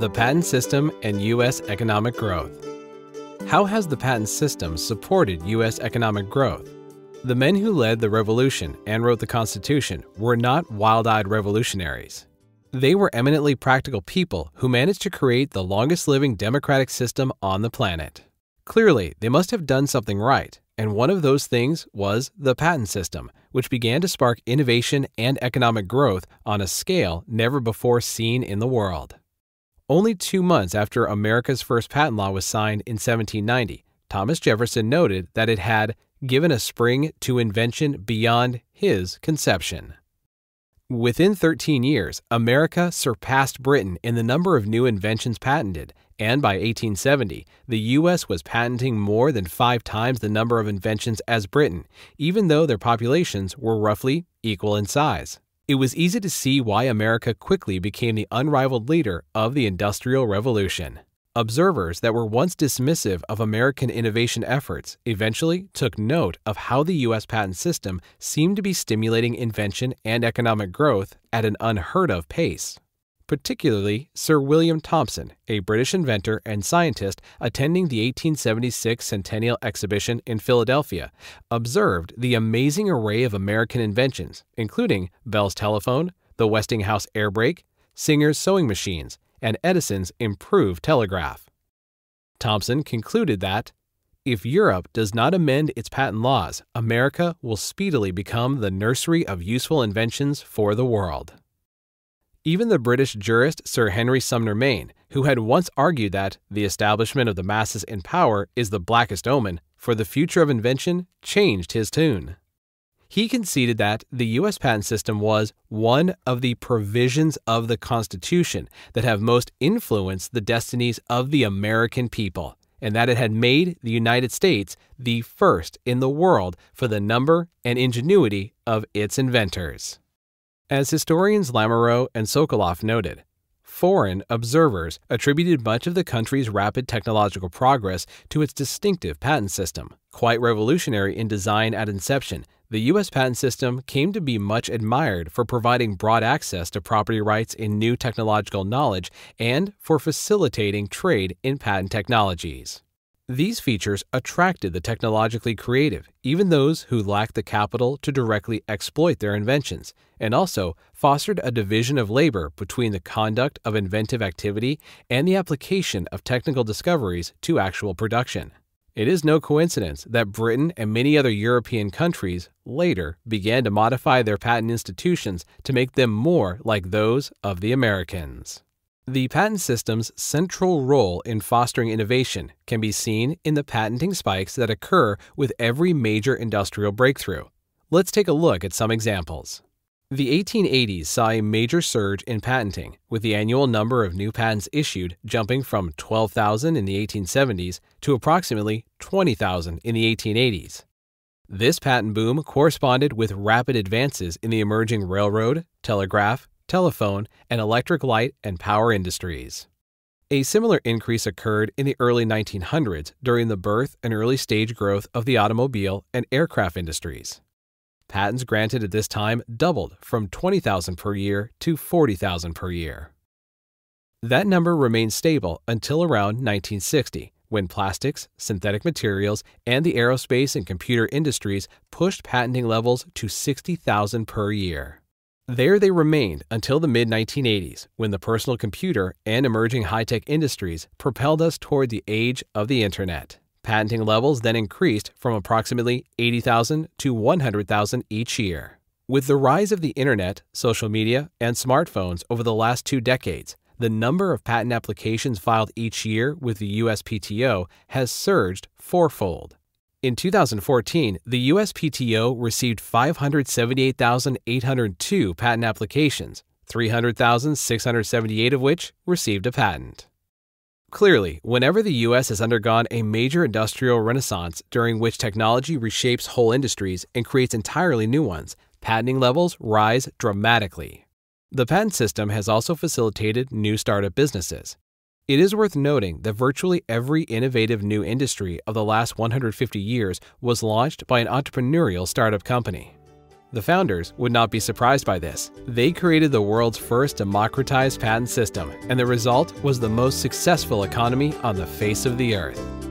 The patent system and U.S. economic growth. How has the patent system supported U.S. economic growth? The men who led the revolution and wrote the Constitution were not wild-eyed revolutionaries. They were eminently practical people who managed to create the longest-living democratic system on the planet. Clearly, they must have done something right, and one of those things was the patent system, which began to spark innovation and economic growth on a scale never before seen in the world. Only 2 months after America's first patent law was signed in 1790, Thomas Jefferson noted that it had given a spring to invention beyond his conception. Within 13 years, America surpassed Britain in the number of new inventions patented, and by 1870, the U.S. was patenting more than 5 times the number of inventions as Britain, even though their populations were roughly equal in size. It was easy to see why America quickly became the unrivaled leader of the Industrial Revolution. Observers that were once dismissive of American innovation efforts eventually took note of how the U.S. patent system seemed to be stimulating invention and economic growth at an unheard-of pace. Particularly Sir William Thomson, a British inventor and scientist attending the 1876 Centennial Exhibition in Philadelphia, observed the amazing array of American inventions, including Bell's telephone, the Westinghouse air brake, Singer's sewing machines, and Edison's improved telegraph. Thomson concluded that, if Europe does not amend its patent laws, America will speedily become the nursery of useful inventions for the world. Even the British jurist Sir Henry Sumner Maine, who had once argued that the establishment of the masses in power is the blackest omen for the future of invention, changed his tune. He conceded that the U.S. patent system was one of the provisions of the Constitution that have most influenced the destinies of the American people, and that it had made the United States the first in the world for the number and ingenuity of its inventors. As historians Lamoureux and Sokoloff noted, foreign observers attributed much of the country's rapid technological progress to its distinctive patent system. Quite revolutionary in design at inception, the U.S. patent system came to be much admired for providing broad access to property rights in new technological knowledge and for facilitating trade in patent technologies. These features attracted the technologically creative, even those who lacked the capital to directly exploit their inventions, and also fostered a division of labor between the conduct of inventive activity and the application of technical discoveries to actual production. It is no coincidence that Britain and many other European countries later began to modify their patent institutions to make them more like those of the Americans. The patent system's central role in fostering innovation can be seen in the patenting spikes that occur with every major industrial breakthrough. Let's take a look at some examples. The 1880s saw a major surge in patenting, with the annual number of new patents issued jumping from 12,000 in the 1870s to approximately 20,000 in the 1880s. This patent boom corresponded with rapid advances in the emerging railroad, telegraph, telephone, and electric light and power industries. A similar increase occurred in the early 1900s during the birth and early stage growth of the automobile and aircraft industries. Patents granted at this time doubled from 20,000 per year to 40,000 per year. That number remained stable until around 1960, when plastics, synthetic materials, and the aerospace and computer industries pushed patenting levels to 60,000 per year. There they remained until the mid-1980s, when the personal computer and emerging high-tech industries propelled us toward the age of the Internet. Patenting levels then increased from approximately 80,000 to 100,000 each year. With the rise of the Internet, social media, and smartphones over the last 2 decades, the number of patent applications filed each year with the USPTO has surged fourfold. In 2014, the USPTO received 578,802 patent applications, 300,678 of which received a patent. Clearly, whenever the U.S. has undergone a major industrial renaissance during which technology reshapes whole industries and creates entirely new ones, patenting levels rise dramatically. The patent system has also facilitated new startup businesses. It is worth noting that virtually every innovative new industry of the last 150 years was launched by an entrepreneurial startup company. The founders would not be surprised by this. They created the world's first democratized patent system, and the result was the most successful economy on the face of the earth.